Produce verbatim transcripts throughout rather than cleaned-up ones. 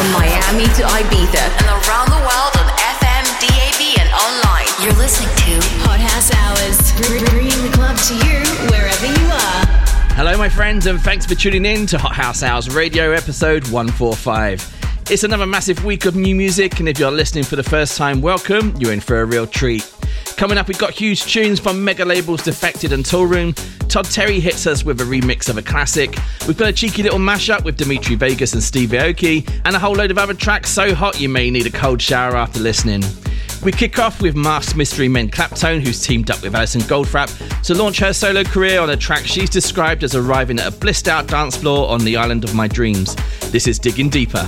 From Miami to Ibiza and around the world on F M, D A B and online. You're listening to Hot House Hours, bringing the club to you wherever you are. Hello my friends, and thanks for tuning in to Hot House Hours Radio episode one forty-five. It's another massive week of new music, and if you're listening for the first time, welcome, you're in for a real treat. Coming up, we've got huge tunes from mega labels Defected and Toolroom. Todd Terry hits us with a remix of a classic. We've got a cheeky little mashup with Dimitri Vegas and Steve Aoki, and a whole load of other tracks so hot you may need a cold shower after listening. We kick off with Masked Mystery Men Claptone, who's teamed up with Alison Goldfrapp to launch her solo career on a track she's described as arriving at a blissed out dance floor on the island of my dreams. This is Digging Deeper.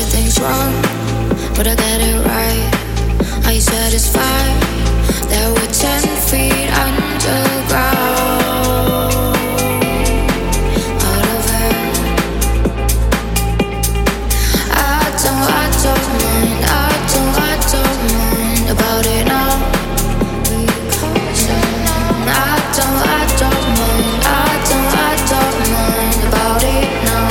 everything's wrong, but I get it right. Are you satisfied that we're ten feet underground? Out of air. I don't, I don't mind, I don't, I don't mind about it now. Because I don't, I don't mind, I don't, I don't mind about it now.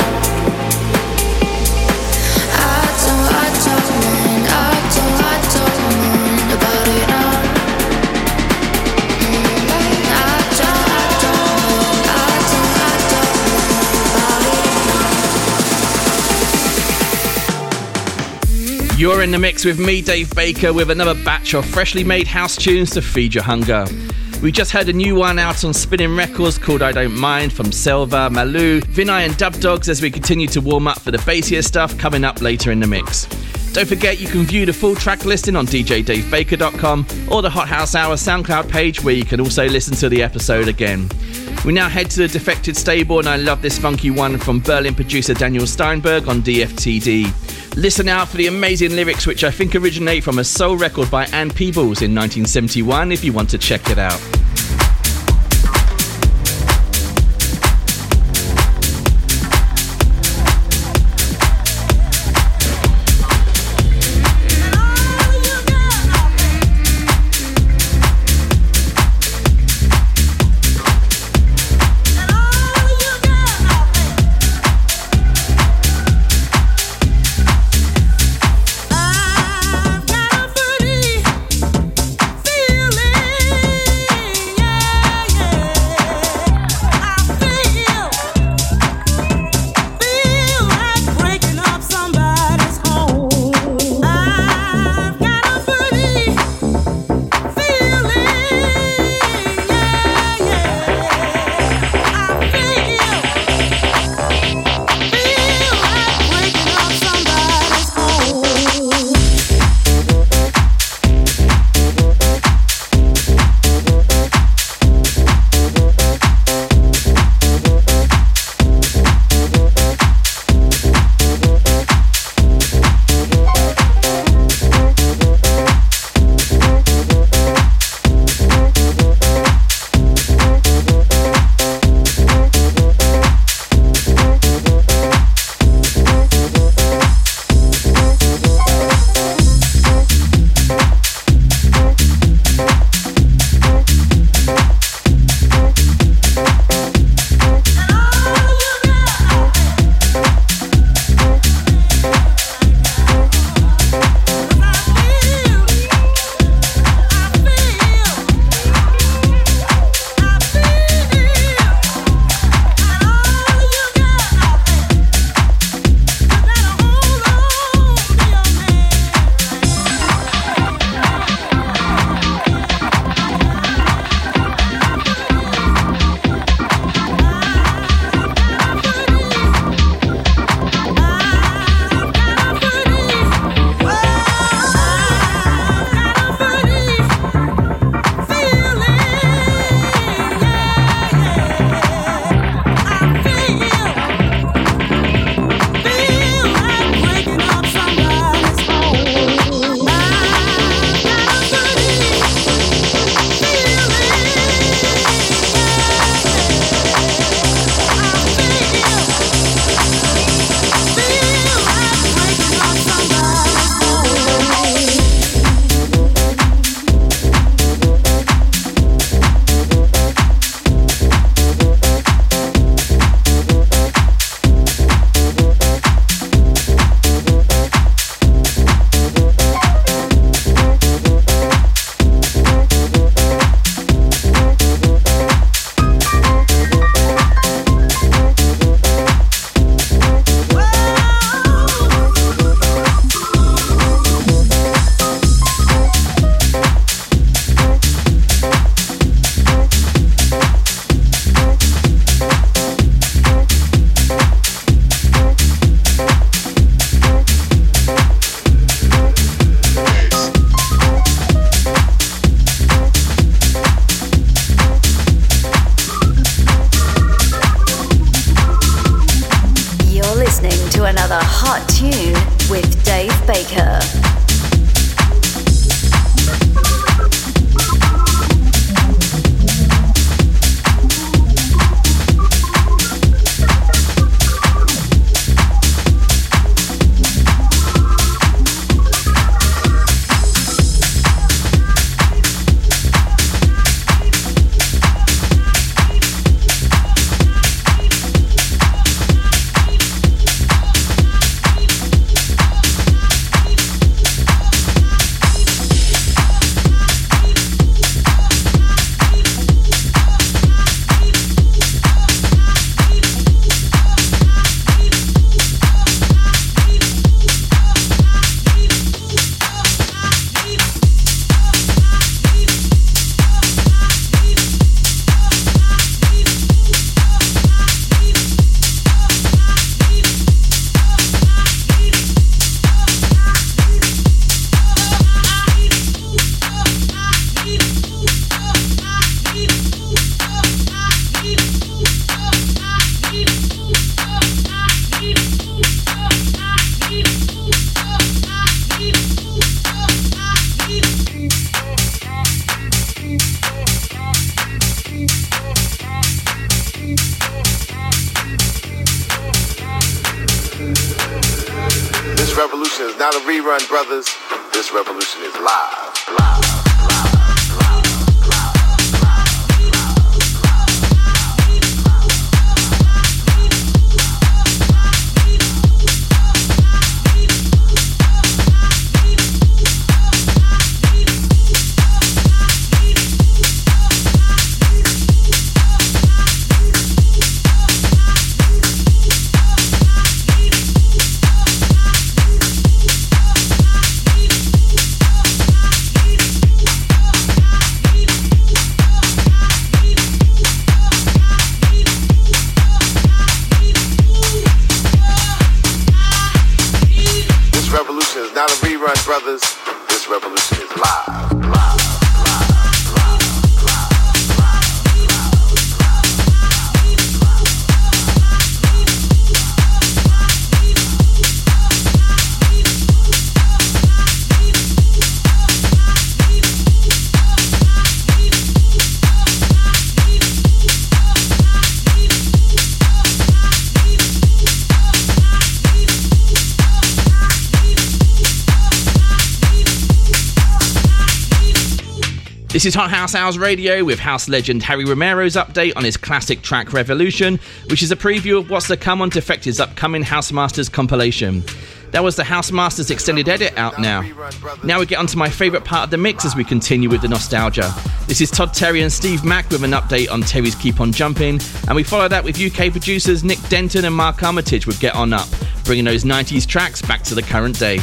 I don't, I don't mind, I don't, I don't mind about it now. You're in the mix with me, Dave Baker, with another batch of freshly made house tunes to feed your hunger. We just heard a new one out on Spinning Records called I Don't Mind from Selva, Malu, Vinay and Dub Dogs as we continue to warm up for the bassier stuff coming up later in the mix. Don't forget you can view the full track listing on d j dave baker dot com or the Hot House Hour SoundCloud page where you can also listen to the episode again. We now head to the Defected Stable and I love this funky one from Berlin producer Daniel Steinberg on D F T D. Listen out for the amazing lyrics which I think originate from a soul record by Ann Peebles in nineteen seventy-one if you want to check it out. I've got a pretty feeling. not a rerun, brothers. This revolution is live, live. Not a rerun, brothers. This revolution is live, live, live. This is Hot House Hours Radio with house legend Harry Romero's update on his classic track Revolution, which is a preview of what's to come on Defected's upcoming House Masters compilation. That was the House Masters extended edit out now. Now we get onto my favourite part of the mix as we continue with the nostalgia. This is Todd Terry and Steve Mack with an update on Terry's Keep On Jumping, and we follow that with U K producers Nick Denton and Mark Armitage with Get On Up, bringing those nineties tracks back to the current day.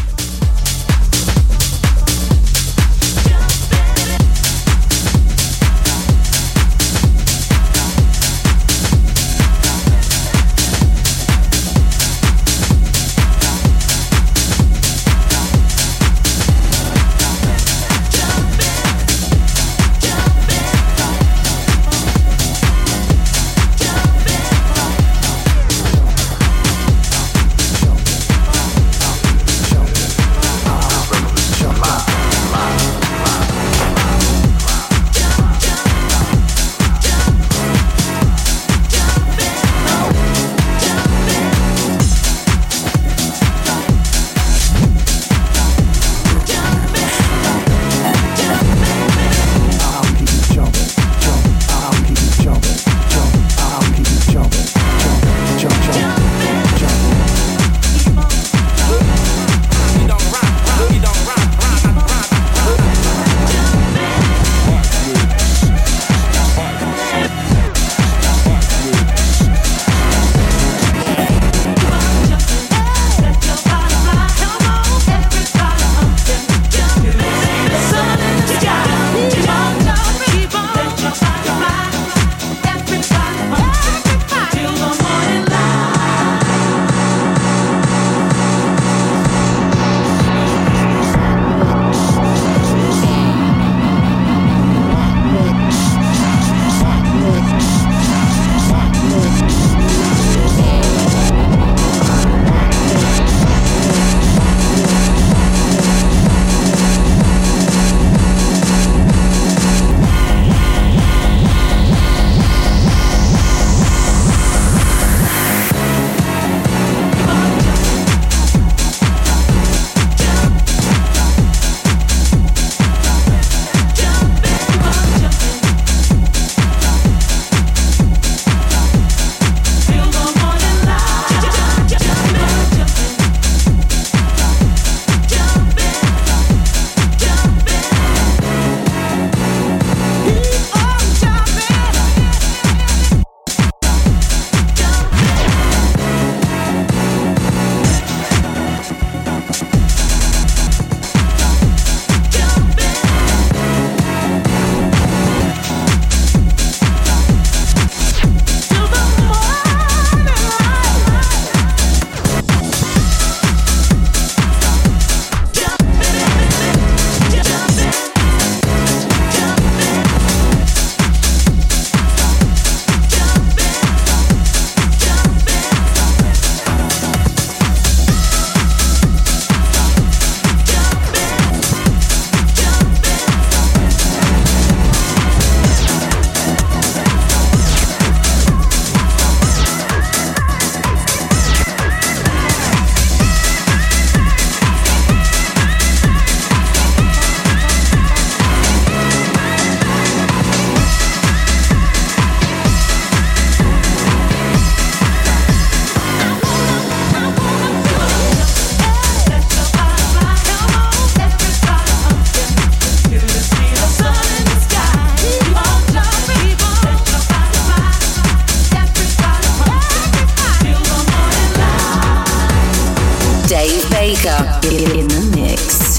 in the mix.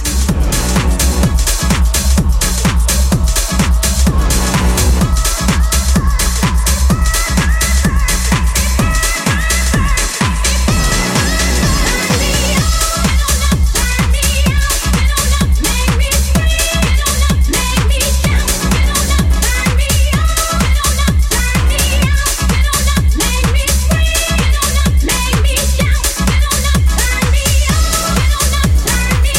Make me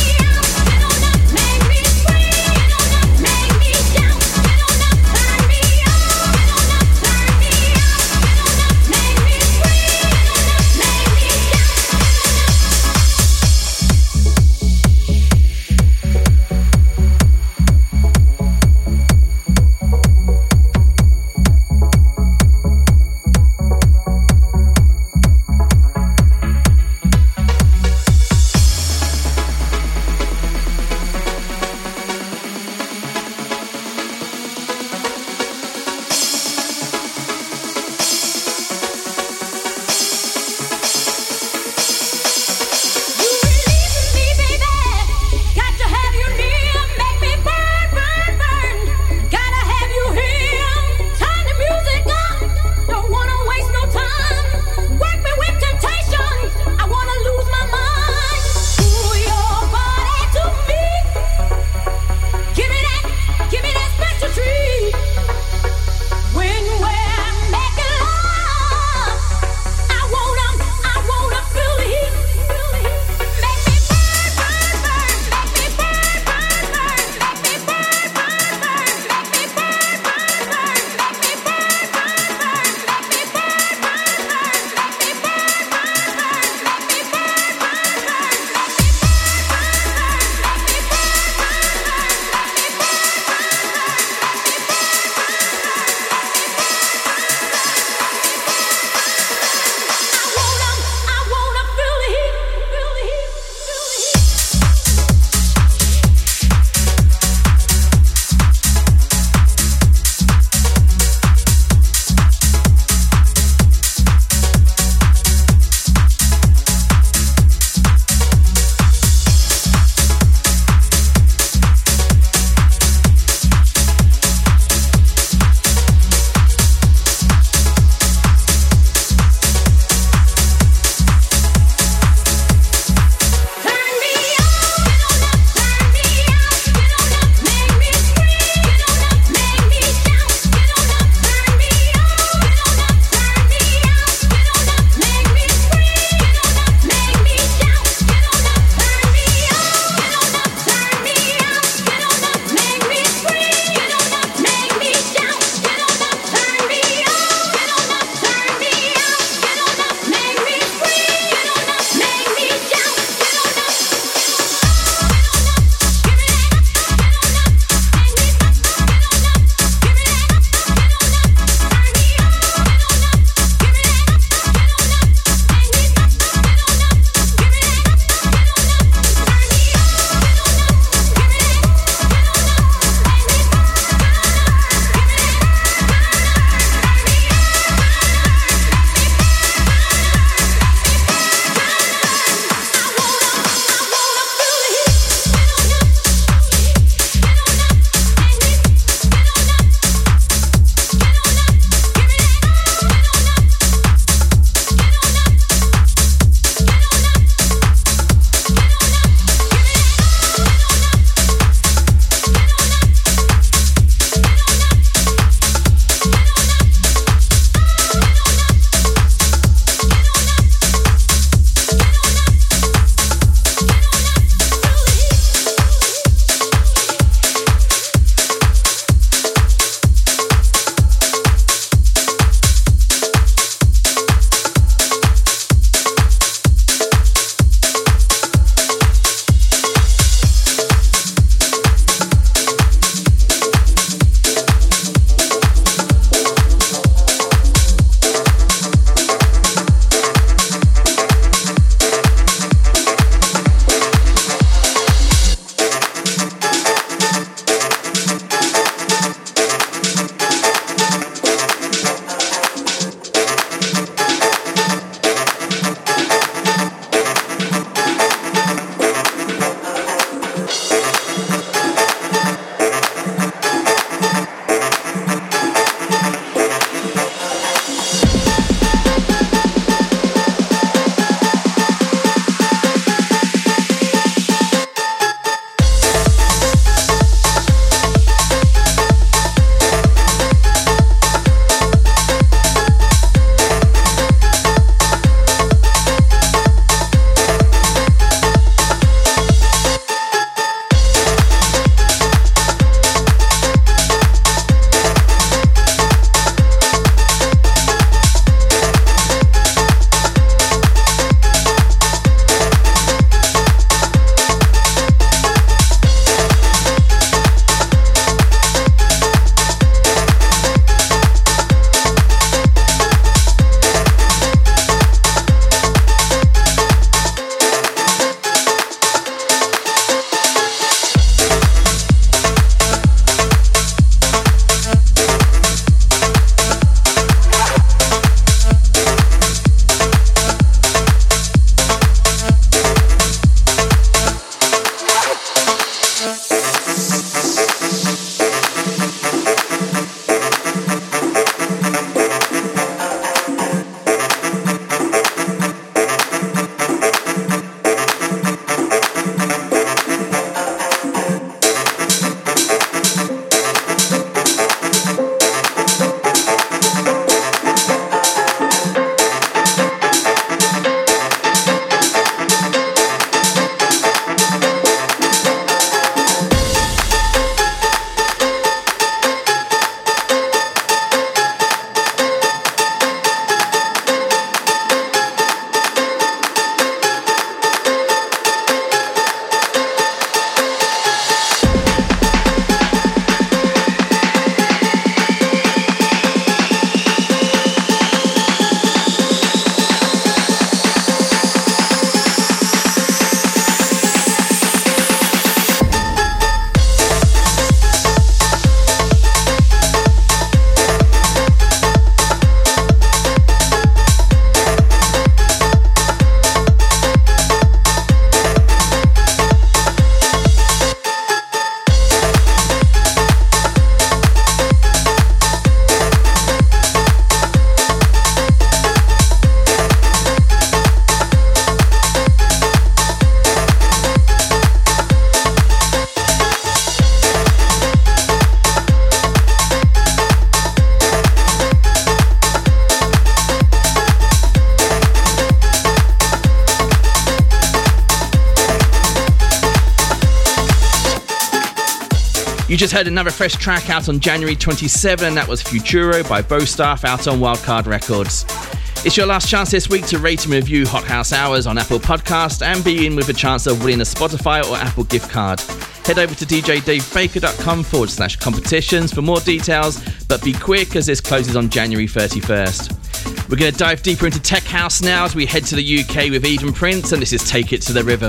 You just heard another fresh track out on January twenty-seventh. That was Futuro by Bowstaff out on Wildcard Records. It's your last chance this week to rate and review Hot House Hours on Apple Podcast and be in with a chance of winning a Spotify or Apple gift card. Head over to djdavebaker.com forward slash competitions for more details, but be quick as this closes on January thirty-first. We're going to dive deeper into tech house now as we head to the U K with Eden Prince, and this is Take It to the Rhythm.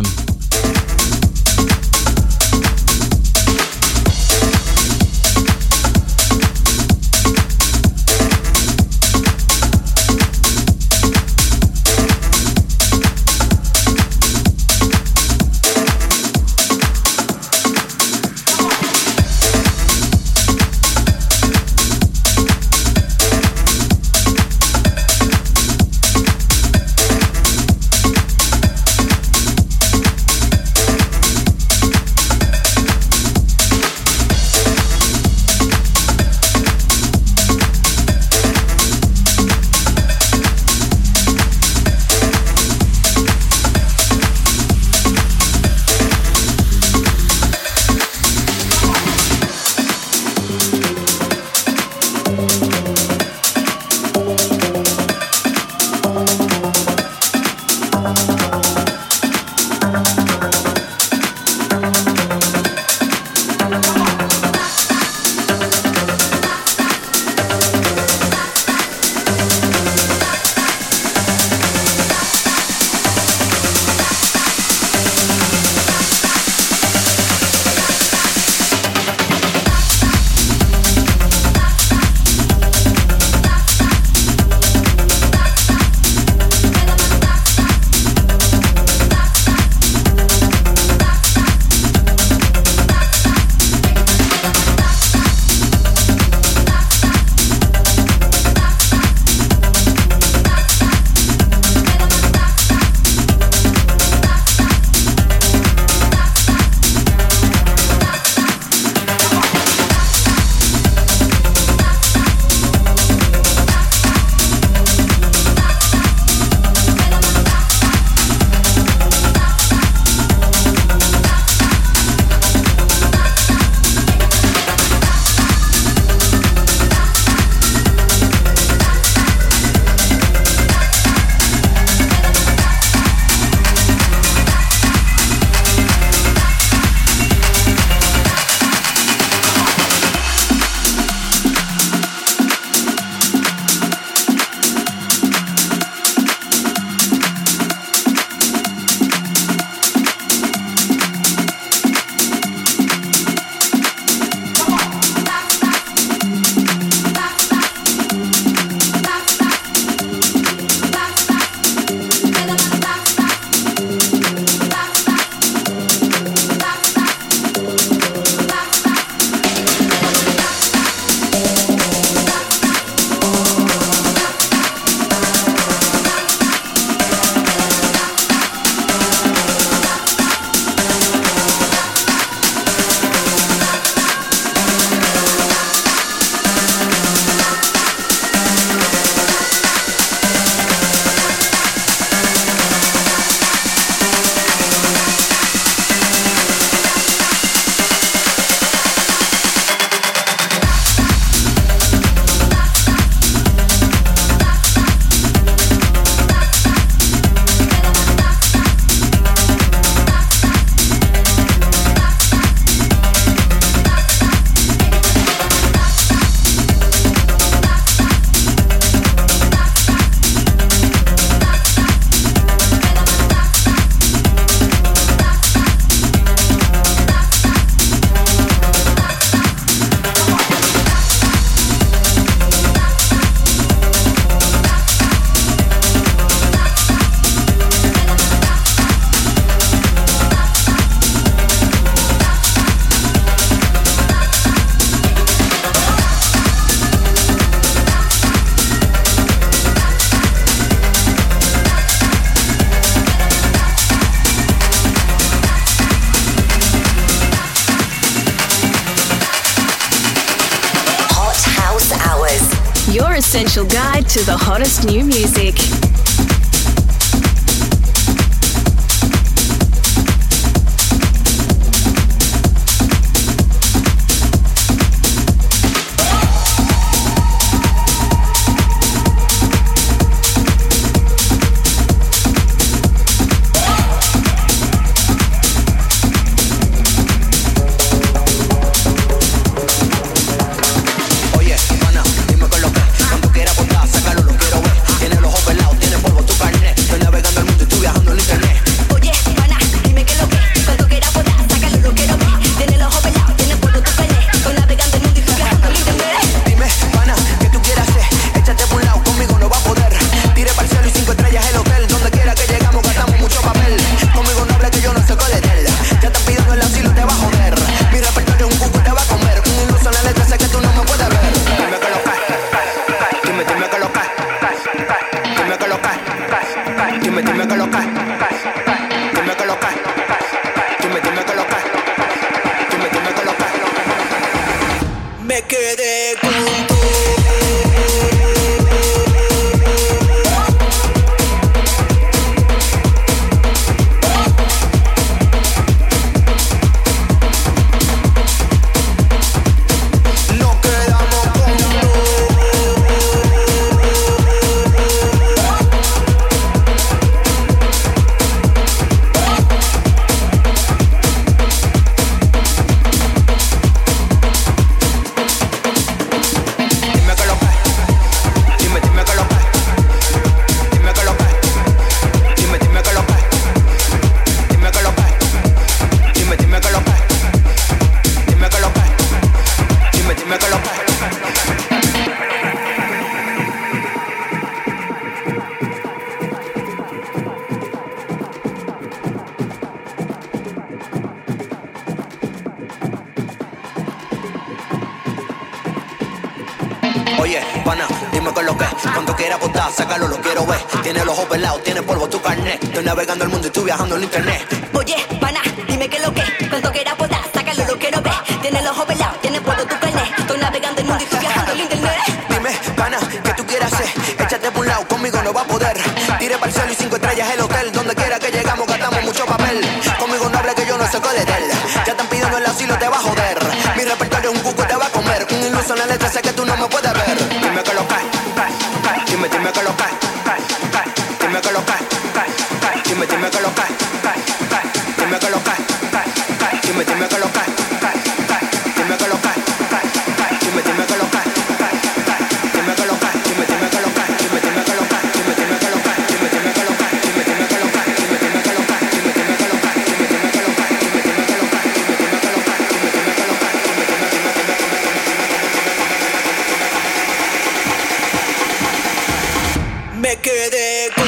your essential guide to the hottest new music. Oye, pana, dime con lo que cuando quiera apostar, sácalo, lo quiero ver. Tiene los ojos pelados, tiene polvo tu carnet. Estoy navegando el mundo y estoy viajando en internet. Oye, pana, dime qué lo que cuando quiera apostar, sácalo, lo quiero ver. Tiene los ojos pelados, tiene polvo tu carnet. Estoy navegando el mundo y estoy viajando en internet. Dime, pana, ¿qué tú quieres hacer? Échate por un lado, conmigo no va a poder. Tire para el cielo y cinco estrellas el hotel. Donde quiera que llegamos gastamos mucho papel. Conmigo no hable que yo no sé cuál es él. Ya están pidiendo el asilo, te va a joder. Mi repertorio es un cuco y te va a comer. Un iluso en la letra, sé que tú no me puedes ver. Dime que lo cae. Dime, dime que lo cae. Dime que lo cae. Dime, dime que lo cae. Dime que lo cae. Dime, dime que lo cae. Dime que lo cae. Dime, dime que lo cae. Dime que lo cae. Dime, dime que lo cae. Dime, dime que lo cae. Dime, dime que lo cae. Dime, dime que lo cae. Dime, dime que lo cae. Dime, dime que lo cae. Dime, dime que lo cae. Dime, dime que lo cae. Dime, dime que lo cae. Dime, dime que lo cae. Dime, dime que lo cae. Me quedé con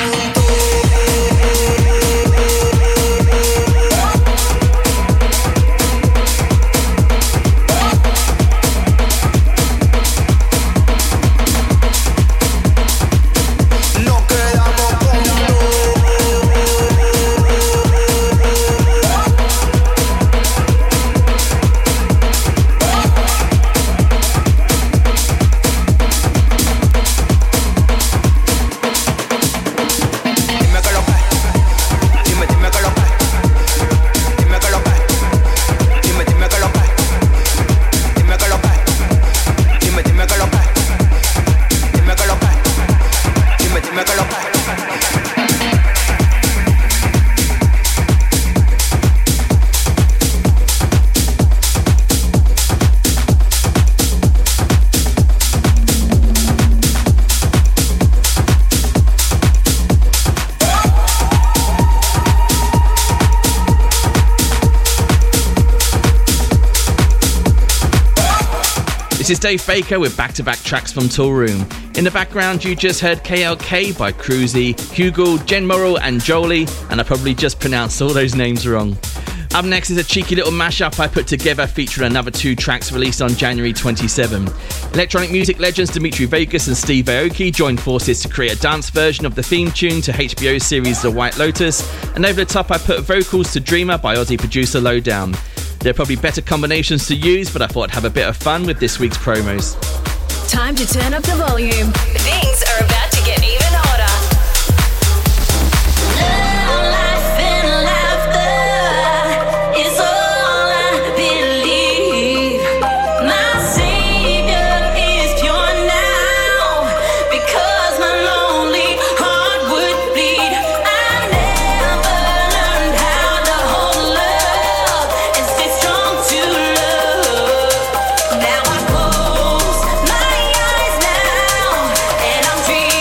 This is Dave Baker with back-to-back tracks from Toolroom. In the background, you just heard K L K by Cruzy, Hugel, Jen Morrell and Jolie, and I probably just pronounced all those names wrong. Up next is a cheeky little mashup I put together featuring another two tracks released on January twenty-seventh. Electronic music legends Dimitri Vegas and Steve Aoki joined forces to create a dance version of the theme tune to H B O's series The White Lotus, and over the top I put vocals to Dreamer by Aussie producer Lowdown. There are probably better combinations to use, but I thought I'd have a bit of fun with this week's promos. Time to turn up the volume. Things are about to get even hotter. Love, life, and laughter is all I believe. My savior is pure now, because my lonely heart would bleed. I never learned how to hold love and stay strong to love. Now I close my eyes now, and I'm dreaming.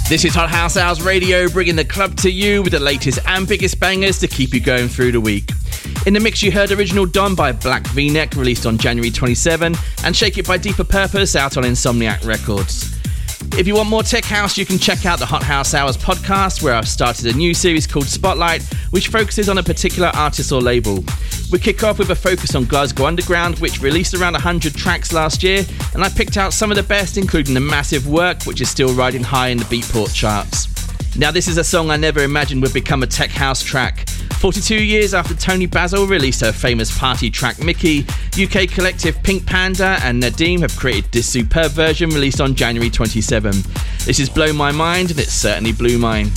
This is Hot House Hours Radio, bringing the club to you with the latest and biggest bangers to keep you going through the week. In the mix you heard Original Dawn by Black V-Neck, released on January twenty-seventh, and Shake It by Deeper Purpose, out on Insomniac Records. If you want more tech house, you can check out the Hot House Hours podcast, where I've started a new series called Spotlight, which focuses on a particular artist or label. We kick off with a focus on Glasgow Underground, which released around one hundred tracks last year, and I picked out some of the best, including the Massive Work, which is still riding high in the Beatport charts. Now, this is a song I never imagined would become a tech house track. forty-two years after Tony Basil released her famous party track Mickey, U K collective Pink Panda and Nadim have created this superb version released on January twenty-seventh. This is Blow My Mind, and it certainly blew mine.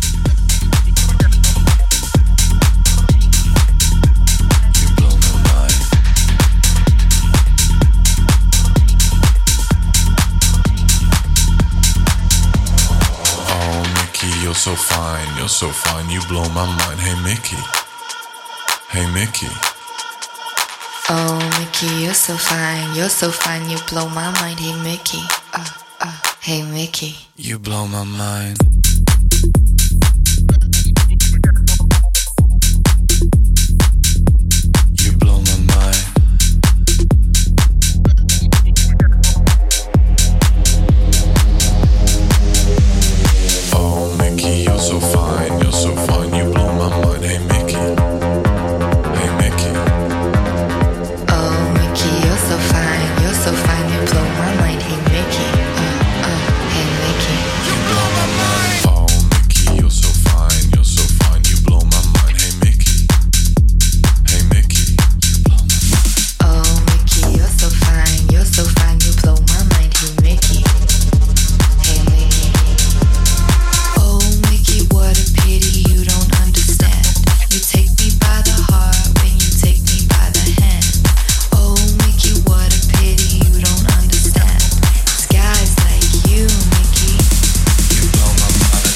You're so fine, you're so fine, you blow my mind. Hey Mickey, hey Mickey. Oh Mickey, you're so fine, you're so fine, you blow my mind. Hey Mickey, uh, uh, hey Mickey. You blow my mind. You blow my mind. Oh Mickey, you're so fine, you're so fine, you blow my mind. Hey Mickey, hey Mickey. Oh Mickey, you're so fine, you're so fine, you blow my mind. Hey Mickey, uh, uh, hey Mickey. You blow my mind. Oh Mickey, you're so fine, you're so fine, you blow my mind. Hey Mickey, hey Mickey. You blow my mind. Oh Mickey, you're so fine, you're so fine, you blow my mind. Hey Mickey, hey Mickey. Oh Mickey, what a pity you don't understand. You take me by the heart when you take me by the hand. Oh Mickey, what a pity you don't understand. It's guys like you, Mickey. You blow my mind.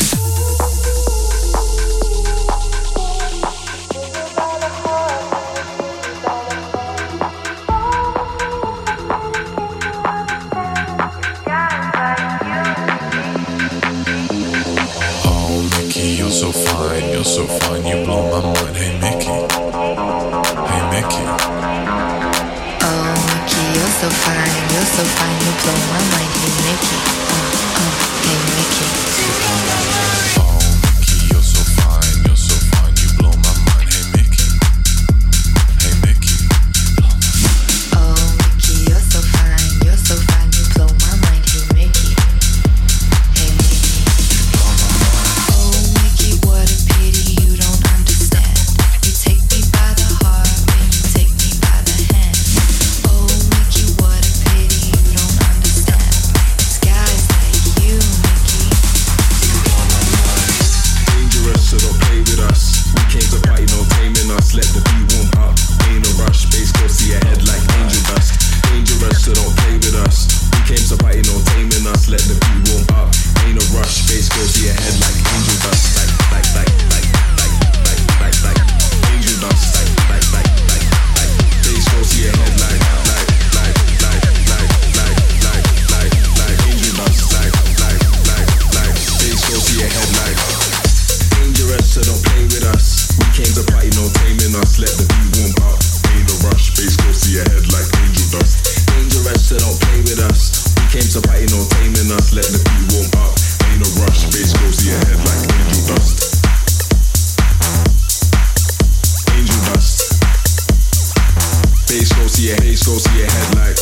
Oh Mickey, you're so fine, you're so fine, you blow my mind. Hey Mickey, hey Mickey. Oh Mickey, you're so fine, you're so fine, you blow my mind. Hey Mickey, uh, uh, hey Mickey. Oh Mickey, you're so fine, you're so fine, you blow my mind. Hey Mickey, hey Mickey. Oh Mickey, you're so fine, you're so fine, you blow my mind. Hey Mickey, hey Mickey. Oh Mickey, what a pity you don't understand. You take me by the heart when you take me by the hand. Oh Mickey, what a pity you don't understand. It's guys like you, Mickey. Dangerous, so don't play with us. We came to party, no taming us. Let the beat warm up. Ain't a rush, bass go see your head like angel dust. Dangerous, so don't play with us. We came to party, no taming us. Let the beat warm up. Ain't a rush, bass go see your head like angel dust. Like, like, like, like, like, like, like, like, angel dust. Like, like, like, like, like, bass go see your head like, like, like, like, like, like, like, like, like, angel dust. Like, like, like, like, bass go see your head like. Dangerous, so don't play with us. We came to party, no taming us. Let the beat warm up. Ain't a rush, bass go see your head like angel dust. Dangerous, so don't play with us. We came to party, no taming us. Let the beat warm up. Ain't a rush, bass go see your head like angel dust. Angel dust. Bass go see your bass go see your head like.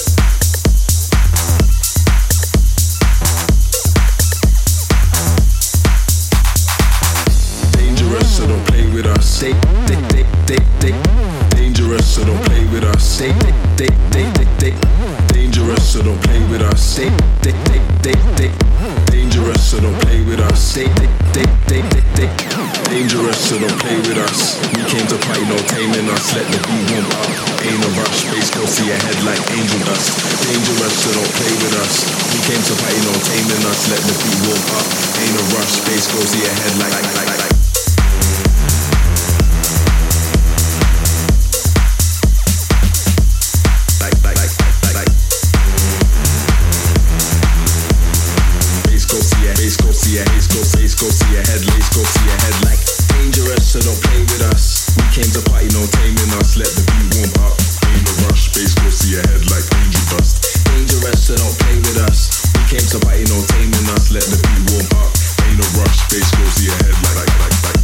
Dangerous, so don't play with us. They, they, they, they, they. Dangerous, so don't play with us. They, they, they, they, they, they. Dangerous, so don't play with us. They, they, they, they, they. Dangerous, so don't play with us. They, they, they, they, they, they. Dangerous, so don't play with us. We came to party, no taming us. Let the beat warm up. Ain't a rush, bass go see your head like angel dust. Dangerous, so don't play with us. We came to party, no taming us. Let the beat warm up. Ain't a rush, bass go see your head like, like, like, like. Like, like, like, like, like, like. Bass go see your, bass go see see your haze, go face, go see your head, lace, go see your head like dangerous, so don't play with us. We came to party, no taming us. Let the beat warm up. Ain't no rush, bass, go see your head like angel dust. Dangerous, so don't play with us. We came to party, no taming us. Let the beat warm up. Ain't no rush, bass, go see your head like like like like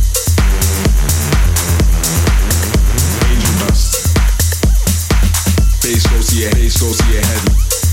angel dust. Bass, go see your bass, go see your head.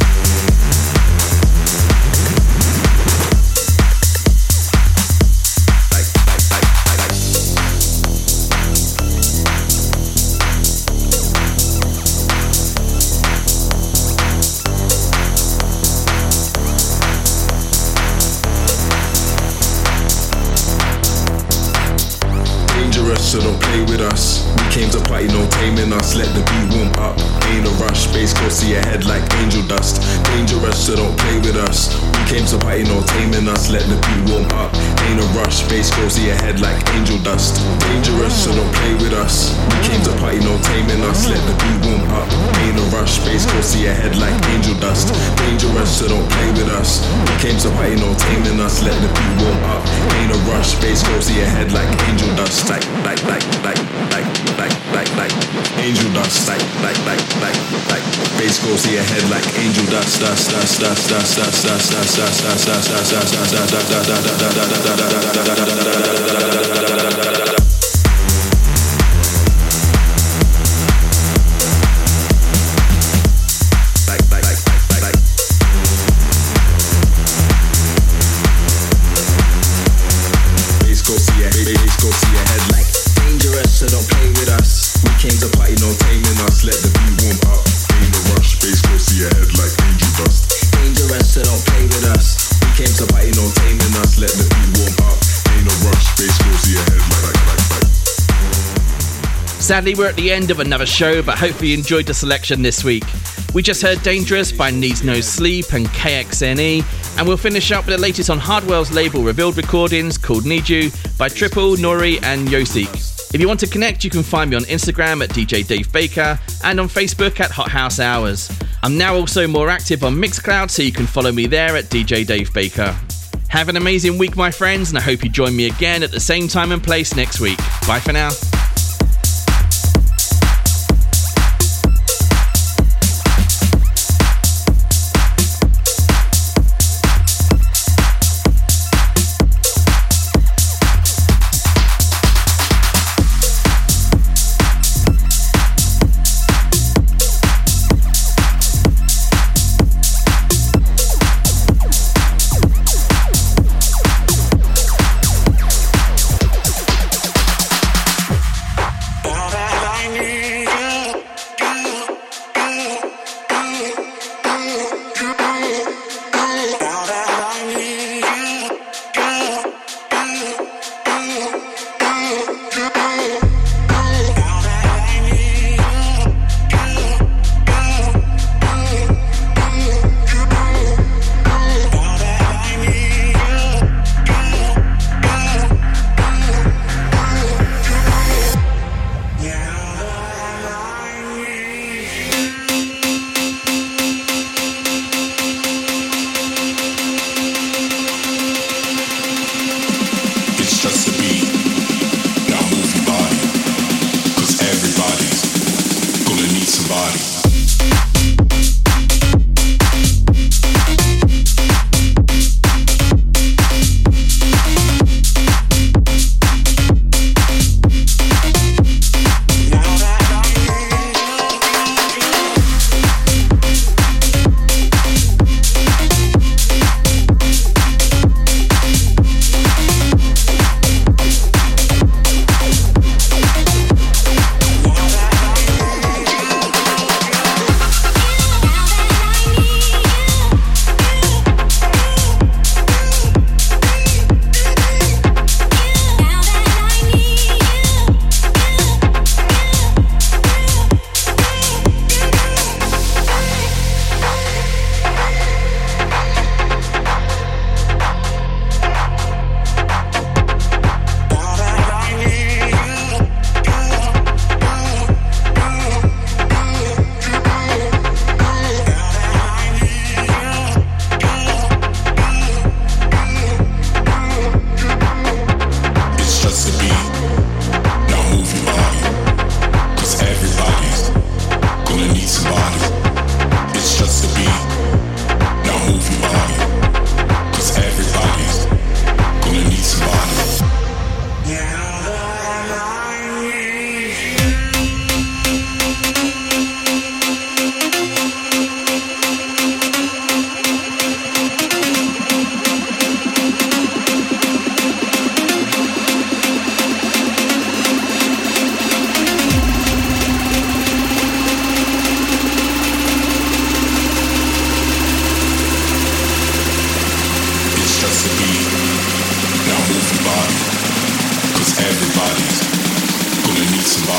So don't play with us. We came to party, no taming us. Let the beat warm up. Ain't a rush, bass go see your head like angel dust. Dangerous, so don't play with us. We came to party, no taming us. Let the beat warm up. Ain't a rush, bass go see your head like angel dust. Dangerous, so don't play with us. We came to party, no taming us. Let the beat warm up. Ain't a rush, bass go see your head like angel dust. Dangerous, so don't play with us. We came to party, no taming us. Let the beat warm up. Ain't a rush, bass go see your head like angel dust. Like, like, like, like, like, like, like, like, angel dust. Like, like, like, like, like, bass go see your head like angel dust. Dust, dust, dust, dust, dust, dust, dust, dust, dust, dust, dust, dust, dust, dust. So don't play with us. We came to party, no taming us. Let the beat warm up. Ain't no rush, bass go see your head like angel dust. Dangerous, so don't play with us. We came to party, no taming us. Let the beat warm up. Ain't no rush, bass go see your head like like like like. Sadly, we're at the end of another show, but hopefully you enjoyed the selection this week. We just heard Dangerous by Needs No Sleep and K X N E, and we'll finish up with the latest on Hardwell's label Revealed Recordings called Need You by Triple, Nori and Yosik. If you want to connect, you can find me on Instagram at D J Dave Baker and on Facebook at Hot House Hours. I'm now also more active on Mixcloud, so you can follow me there at D J Dave Baker. Have an amazing week, my friends, and I hope you join me again at the same time and place next week. Bye for now.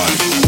hard.